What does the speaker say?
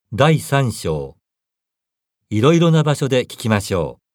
第3章。いろいろな場所で聞きましょう。